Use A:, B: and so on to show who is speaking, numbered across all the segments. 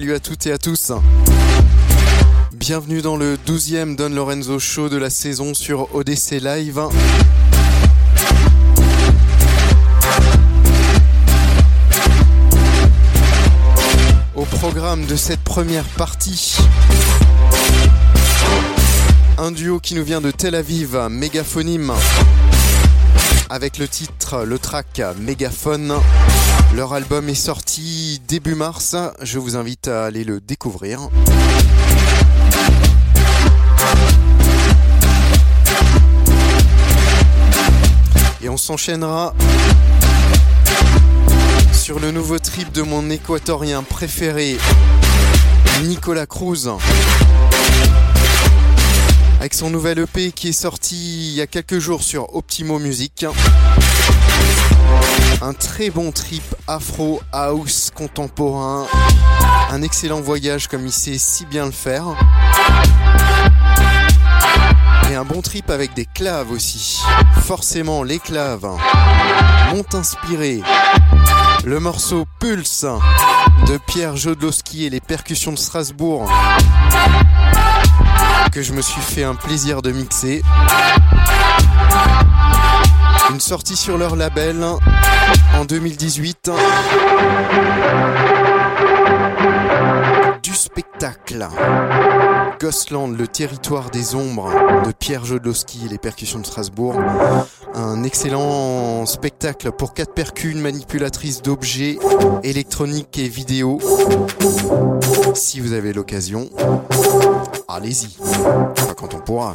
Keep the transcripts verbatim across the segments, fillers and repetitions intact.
A: salut à toutes et à tous. Bienvenue dans le douzième Don Lorenzo Show de la saison sur O D C Live. Au programme de cette première partie, un duo qui nous vient de Tel Aviv, Megaphonim, avec le titre, le track Mégaphone. Leur album est sorti début mars, je vous invite à aller le découvrir. Et on s'enchaînera sur le nouveau trip de mon équatorien préféré, Nicolas Cruz, avec son nouvel E P qui est sorti il y a quelques jours sur Optimo Music. Un très bon trip afro, house, contemporain, un excellent voyage comme il sait si bien le faire. Et un bon trip avec des claves aussi. Forcément, les claves m'ont inspiré le morceau Pulse de Pierre Jodlowski et les percussions de Strasbourg, que je me suis fait un plaisir de mixer. Une sortie sur leur label en deux mille dix-huit. Du spectacle. Ghostland, le territoire des ombres de Pierre Jodlowski et les percussions de Strasbourg. Un excellent spectacle pour quatre percus, une manipulatrice d'objets électroniques et vidéo. Si vous avez l'occasion, allez-y. Enfin, quand on pourra.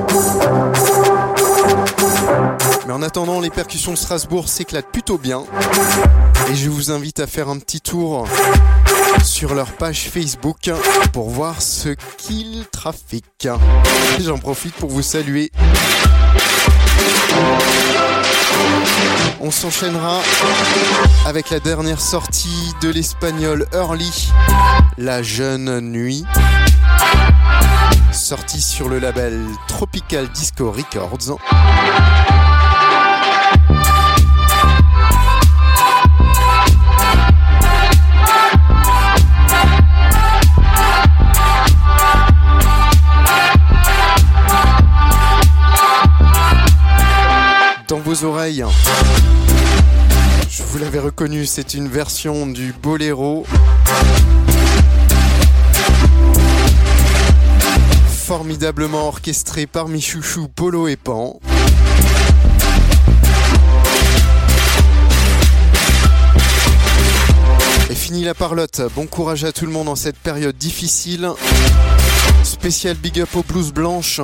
A: Mais en attendant, les percussions de Strasbourg s'éclatent plutôt bien. Et je vous invite à faire un petit tour sur leur page Facebook pour voir ce qu'ils trafiquent. J'en profite pour vous saluer. On s'enchaînera avec la dernière sortie de l'espagnol Early, La Jeune Nuit, sortie sur le label Tropical Disco Records. Dans vos oreilles, je vous l'avais reconnu, c'est une version du boléro formidablement orchestré par mes chouchous Polo et Pan. Et fini la parlotte, bon courage à tout le monde en cette période difficile. Spécial big up aux blouses blanches.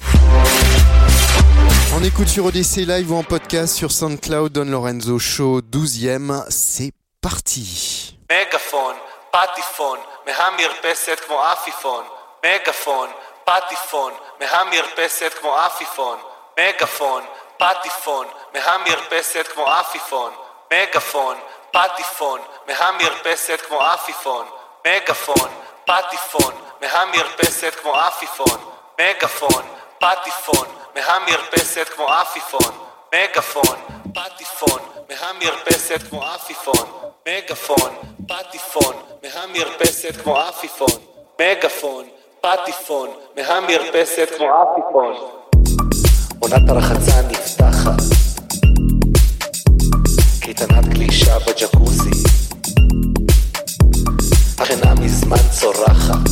A: On écoute sur O D C Live ou en podcast sur SoundCloud, Don Lorenzo Show douzième, c'est parti.
B: Megaphone, פטיפון, מהמרפסת כמו עפיפון. מגפון, פטיפון, מהמרפסת כמו עפיפון. מגפון, פטיפון, מהמרפסת כמו עפיפון. מגפון, פטיפון, מהמרפסת כמו עפיפון. מגפון, פטיפון, מהמרפסת כמו עפיפון. מגפון, פטיפון, מהמרפסת כמו עפיפון. מגפון, פטיפון, מהמרפסת כמו עפיפון. מגפון, פטיפון, מהמרפסת כמו עפיפון. מגפון, פטיפון, מהמרפסת כמו עפיפון. עונת הרחצה נפתחת, קייטנת גלישה בג'קוזי, החינה מזמן צורחת,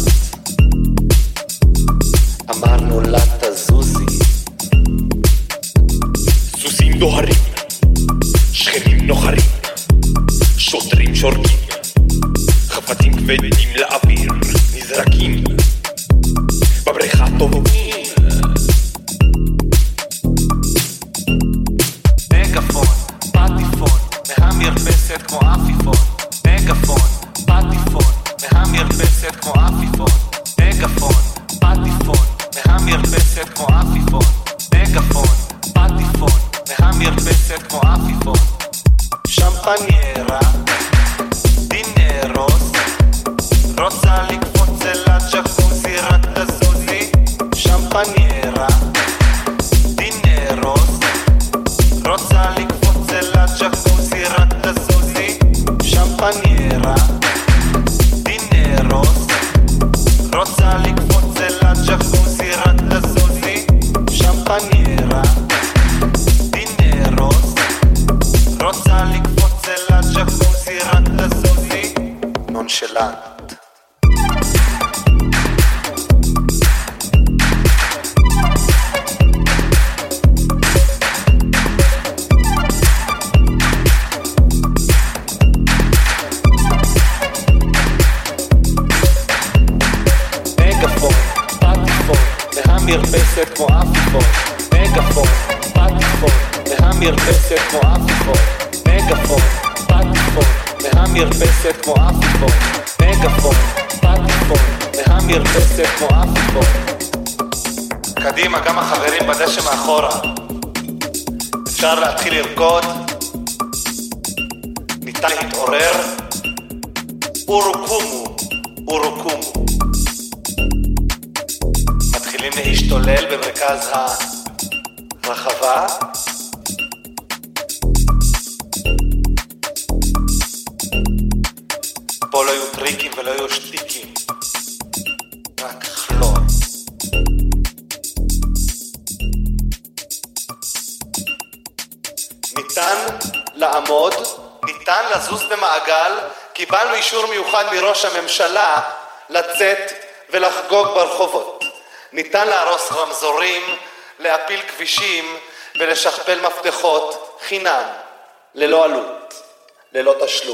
B: אמרנו לה תזוזי. סוסים דוהרים, שכנים נוחרים, שוטרים שורקים, חפצים כבדים לאוויר נזרקים, בבריכה טובעים. מגפון, פטיפון, מהמרפסת כמו עפיפון. מגפון, פטיפון, מהמרפסת כמו עפיפון. מגפון, פטיפון, מהמרפסת כמו עפיפון. מגפון, פטיפון, מהמרפסת כמו עפיפון. שמפניירה, דינרוס, רוצה לקפוץ אל הג'קוזי, רק תזוזי. שמפניירה, דינרוס, רוצה לקפוץ אל הג'קוזי, רק תזוזי. שמפניירה, דינרוס. דינרוס רוצה לקפוץ אל הג'קוזי רק תזוזי שמפניירה דינרוס רוצה לקפוץ אל הג'קוזי רק תזוזי נונשלנט
C: מרפסת כמו אפיפון, מגפון, פטיפון, מהמרפסת כמו אפיפון, מגפון, פטיפון, מהמרפסת כמו אפיפון, מגפון, פטיפון, מהמרפסת כמו אפיפון.
B: קדימה, גם החברים בדשא מאחורה. אפשר להתחיל לרקוד, ניתן להתעורר, אורוקומו, אורוקומו. מתחילים להשתולל במרכז הרחבה. פה לא יהיו טריקים ולא יהיו שטיקים, רק חלום. ניתן לעמוד, ניתן לזוז במעגל, קיבלנו אישור מיוחד מראש הממשלה לצאת ולחגוג ברחובות. ניתן להרוס רמזורים, להפיל כבישים ולשכפל מפתחות חינם, ללא עלות, ללא תשלום.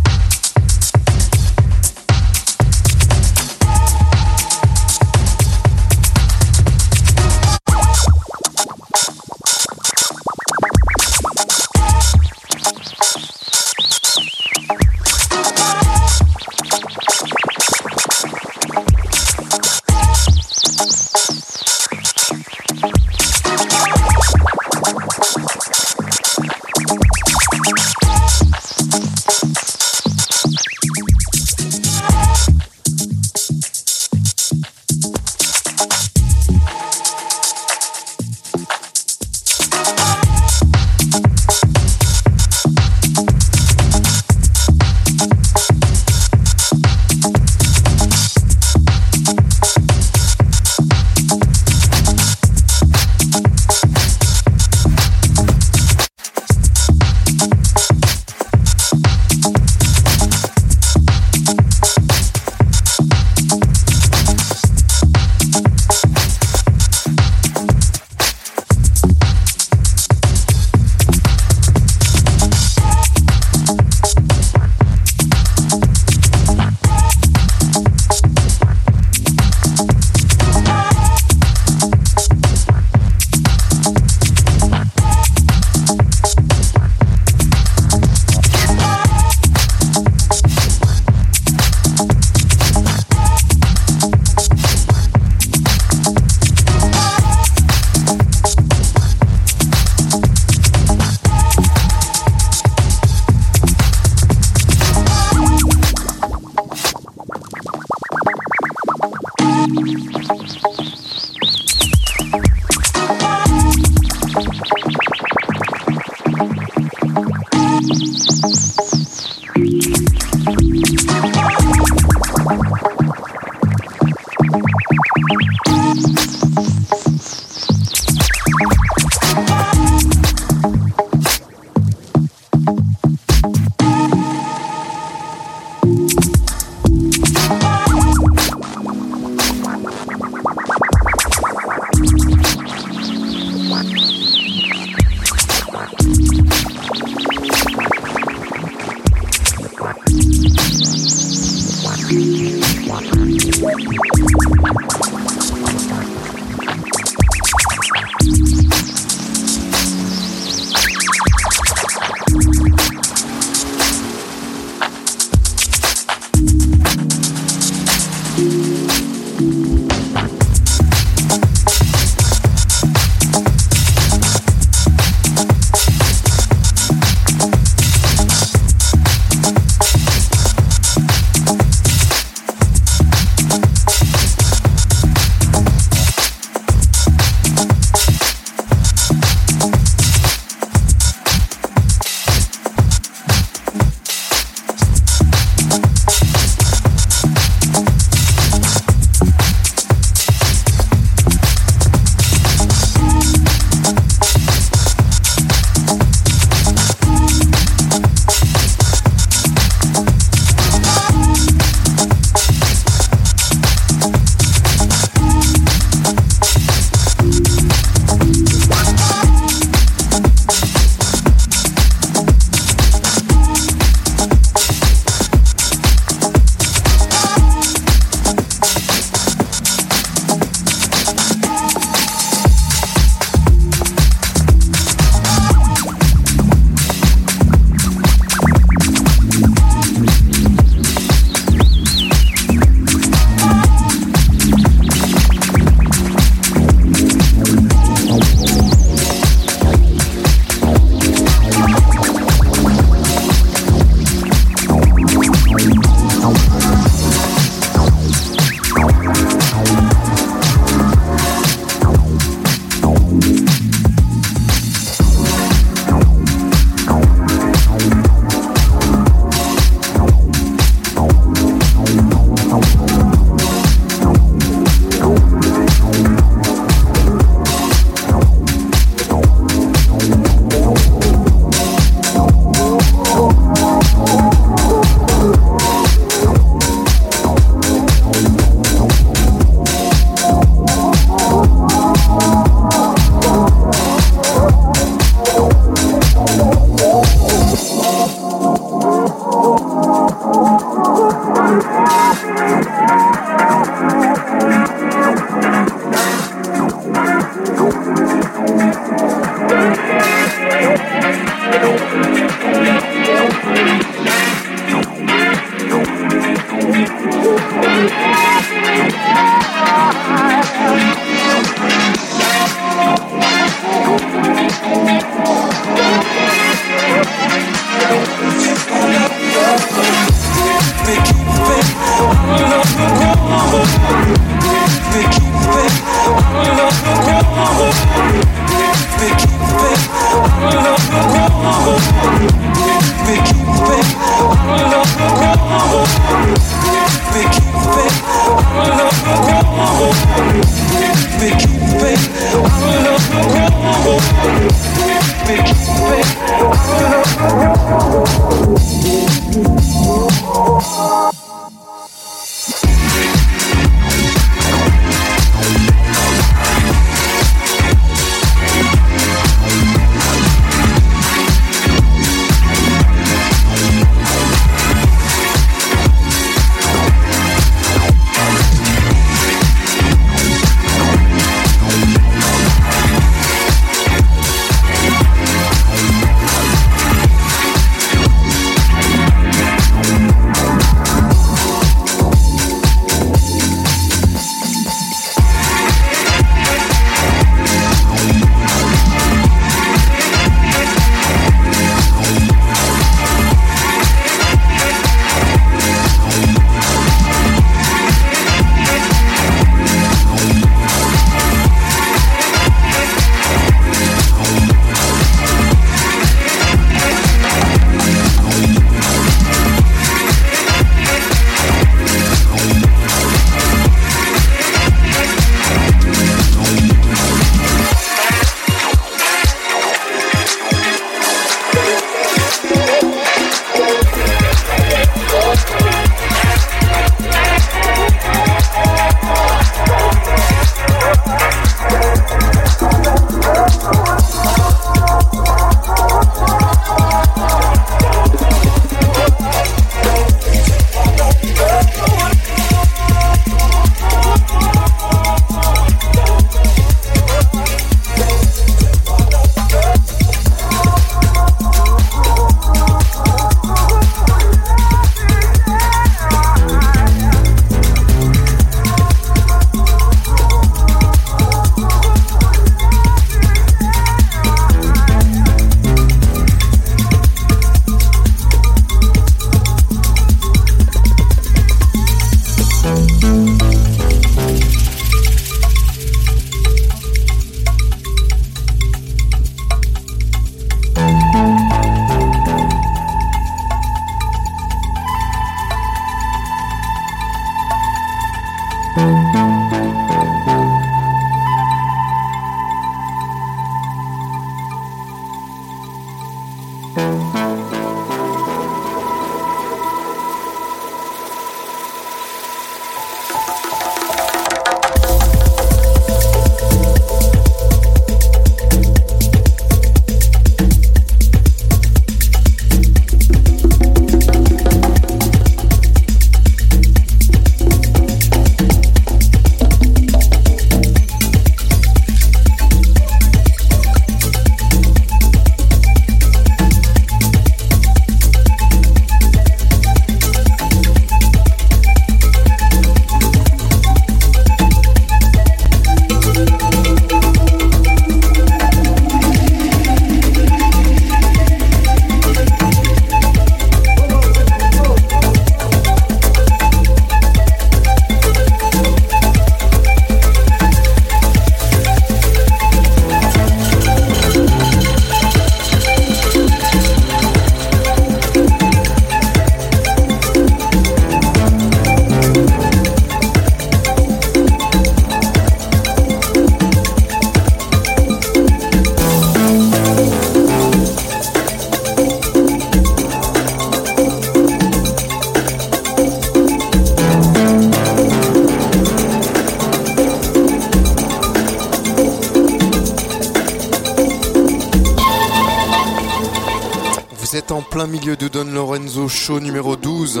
A: En plein milieu de Don Lorenzo Show numéro douze,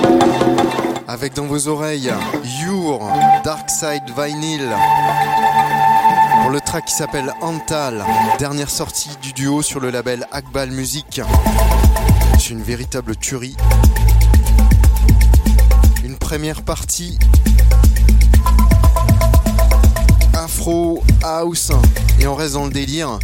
A: avec dans vos oreilles Your Dark Side Vinyl pour le track qui s'appelle Antal, dernière sortie du duo sur le label Akbal Music. C'est une véritable tuerie, une première partie Afro House et on reste dans le délire.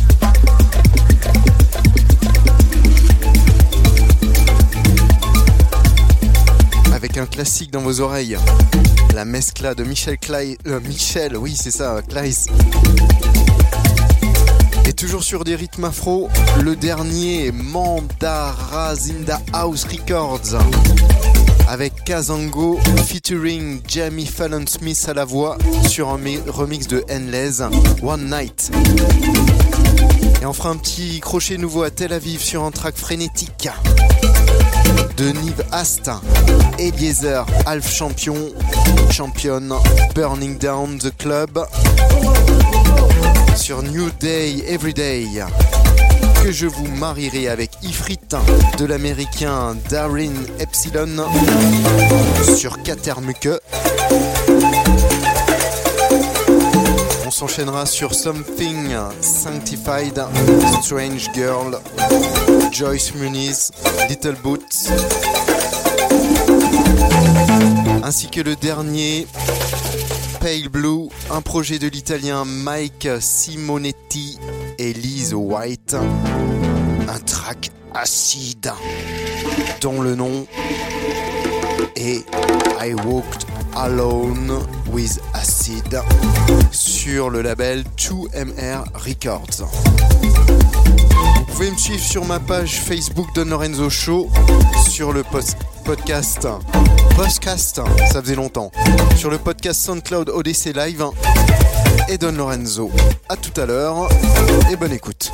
A: Avec un classique dans vos oreilles, la mescla de Michel Clay, euh, Michel, oui c'est ça, Clays. Et toujours sur des rythmes afro, le dernier Mandarazinda House Records avec Kazango featuring Jamie Fallon Smith à la voix sur un remix de Endless One Night. Et on fera un petit crochet nouveau à Tel Aviv sur un track frénétique de Niv Ast, Eliezer, Half Champion, Champion, Burning Down the Club sur New Day Everyday, que je vous marierai avec Ifrit de l'américain Darin Epsilon sur Katermuke. On s'enchaînera sur Something Sanctified, Strange Girl, Joyce Muniz, Little Boots, ainsi que le dernier Pale Blue, un projet de l'italien Mike Simonetti et Liz White, un track acide dont le nom est I Walked Alone with Acid sur le label deux M R Records. Vous pouvez me suivre sur ma page Facebook Don Lorenzo Show, sur le post- podcast podcast, ça faisait longtemps, sur le podcast SoundCloud Odyssey Live et Don Lorenzo. À tout à l'heure et bonne écoute.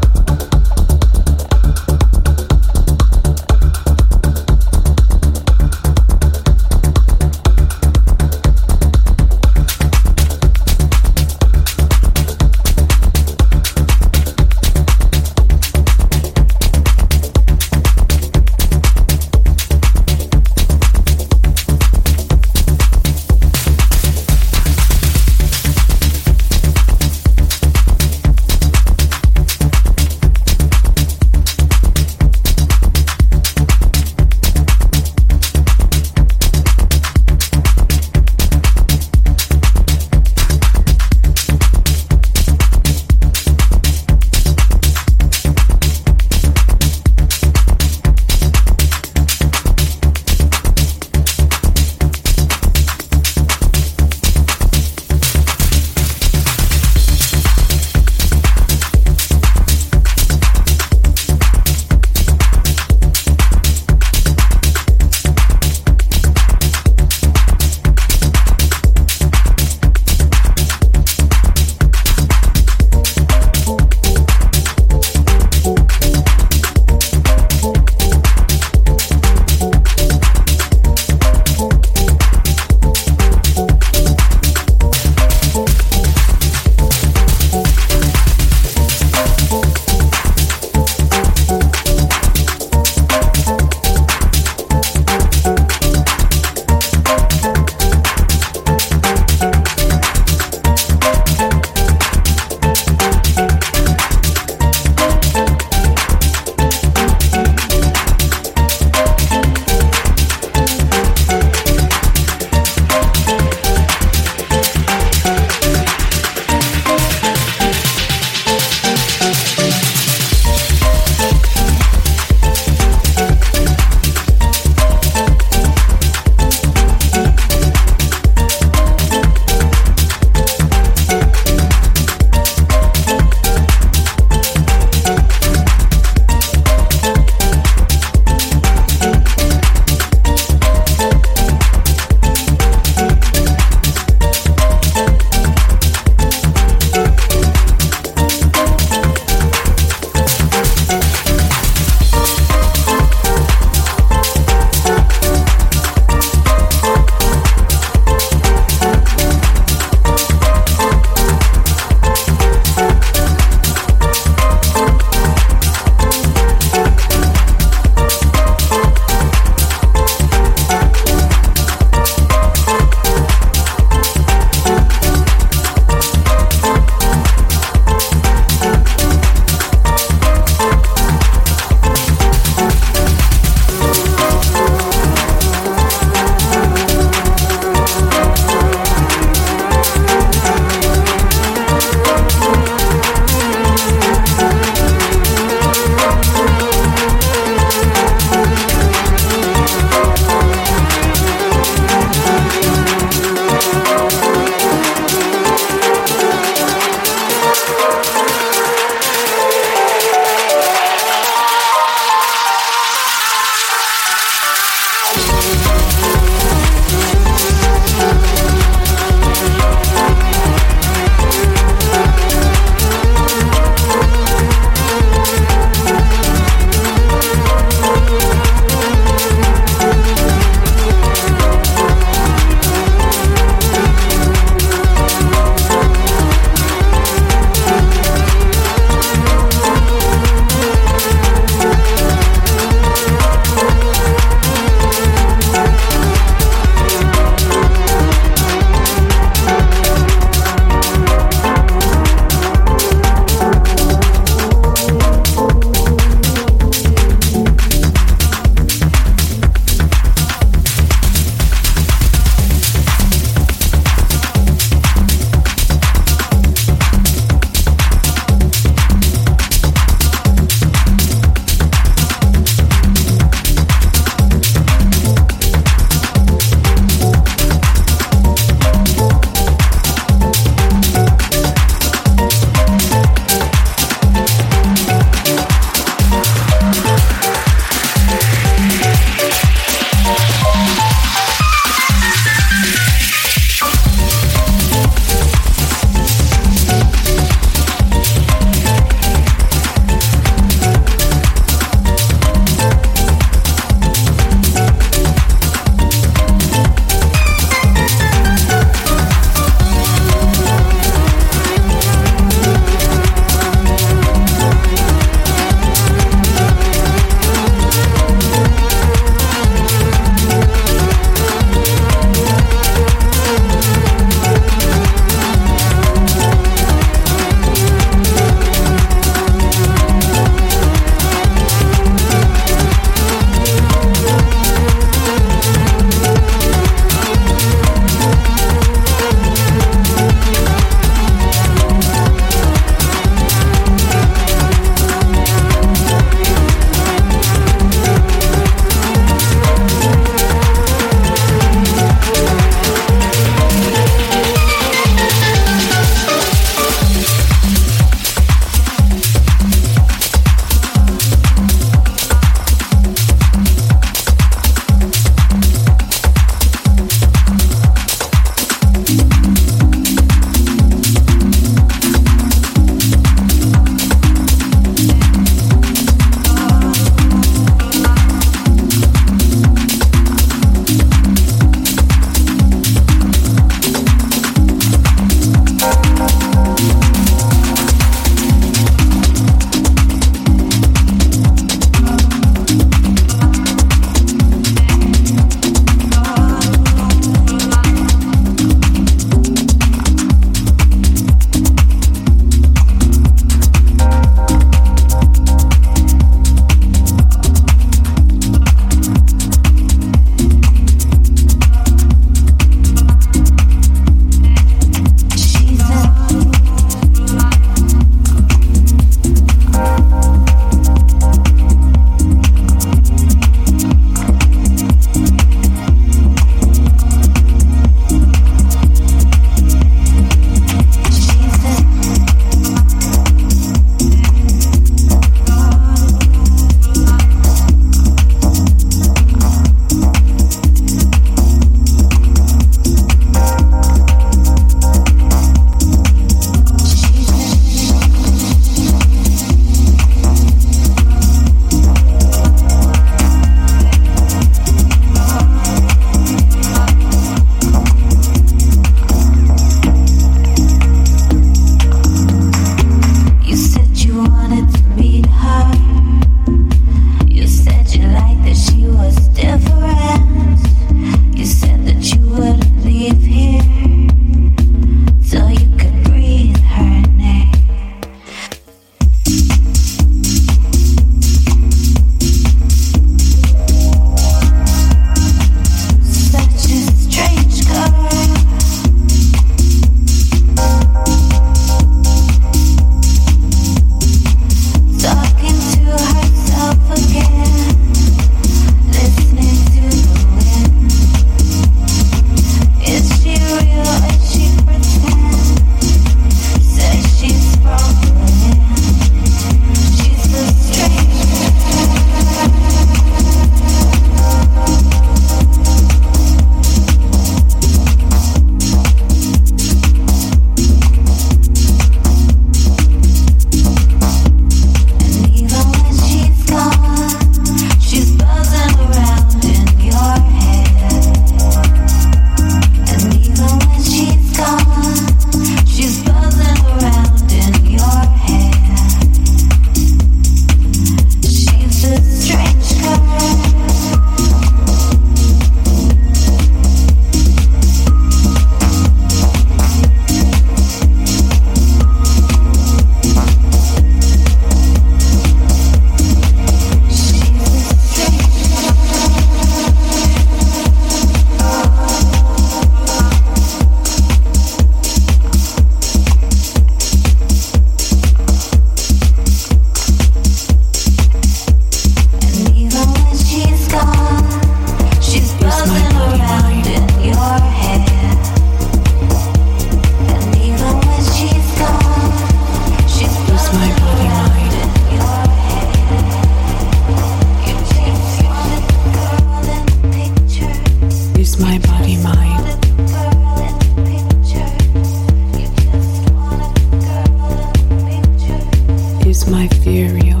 D: my fear real?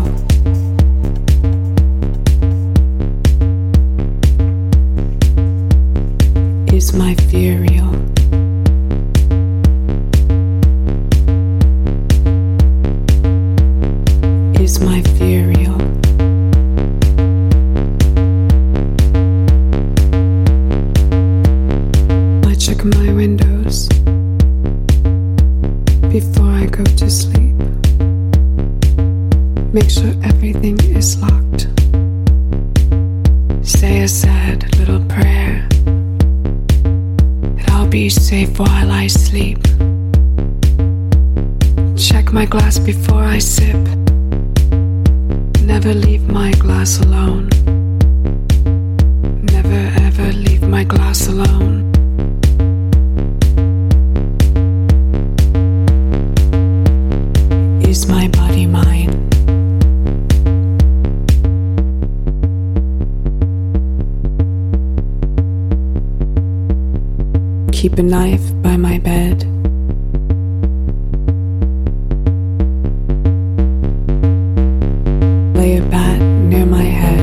D: Is my fear real? Is my fear real? I check my windows before I go to sleep. Make sure everything is locked. Say a sad little prayer that I'll be safe while I sleep. Check my glass before I sip. Never leave my glass alone. Never ever leave my glass alone. Is my body mine? Keep a knife by my bed. Lay a bat near my head.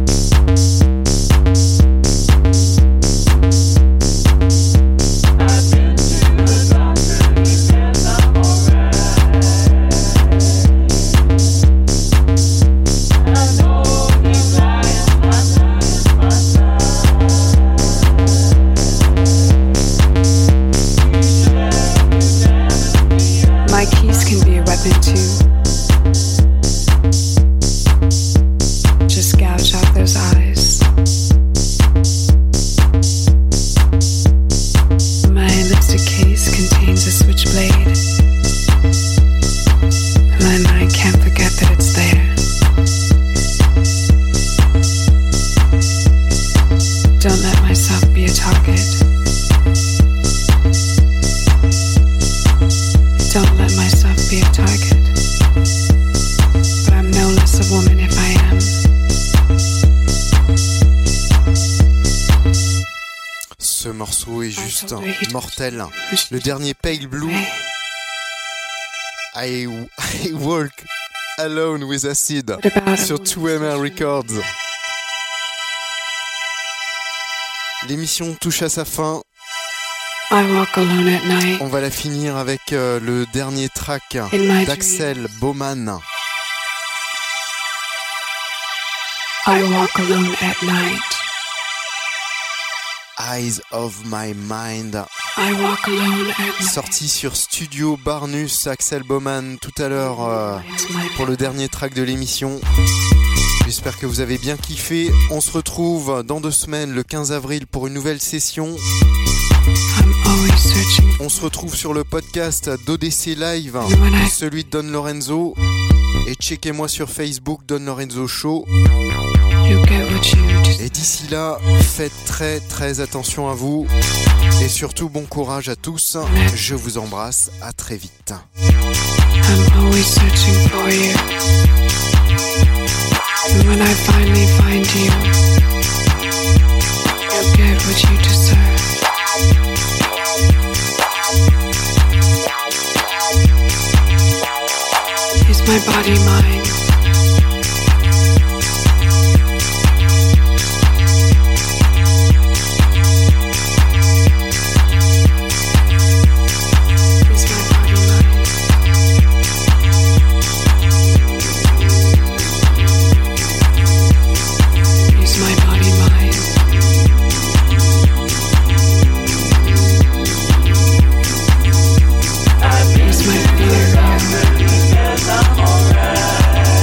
D: My keys can be a weapon too. Just gouge out those eyes. My lipstick case contains a switchblade, and I can't forget that it's there. Don't let myself be a target. Don't let myself be a target. But I'm no less a woman if I am.
A: Ce morceau est juste mortel. Le dernier Pale Blue. I, I Walk Alone with Acid sur two M R Records. L'émission touche à sa fin.
D: I walk alone at night.
A: On va la finir avec euh, le dernier track d'Axel Bowman.
D: I walk alone at night.
A: Eyes of My Mind.
D: I walk alone at night.
A: Sorti sur Studio Barnus, Axel Bowman tout à l'heure euh, pour le dernier track de l'émission. J'espère que vous avez bien kiffé. On se retrouve dans deux semaines, le quinze avril, pour une nouvelle session. On se retrouve sur le podcast d'O D C Live, celui de Don Lorenzo. Et checkez-moi sur Facebook, Don Lorenzo Show. Et d'ici là, faites très très attention à vous. Et surtout, bon courage à tous. Je vous embrasse, à très vite.
D: I'm always searching for you. And when I finally find you, you'll get what you deserve. Is my body mine?
E: Is my fear real?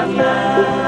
E: love.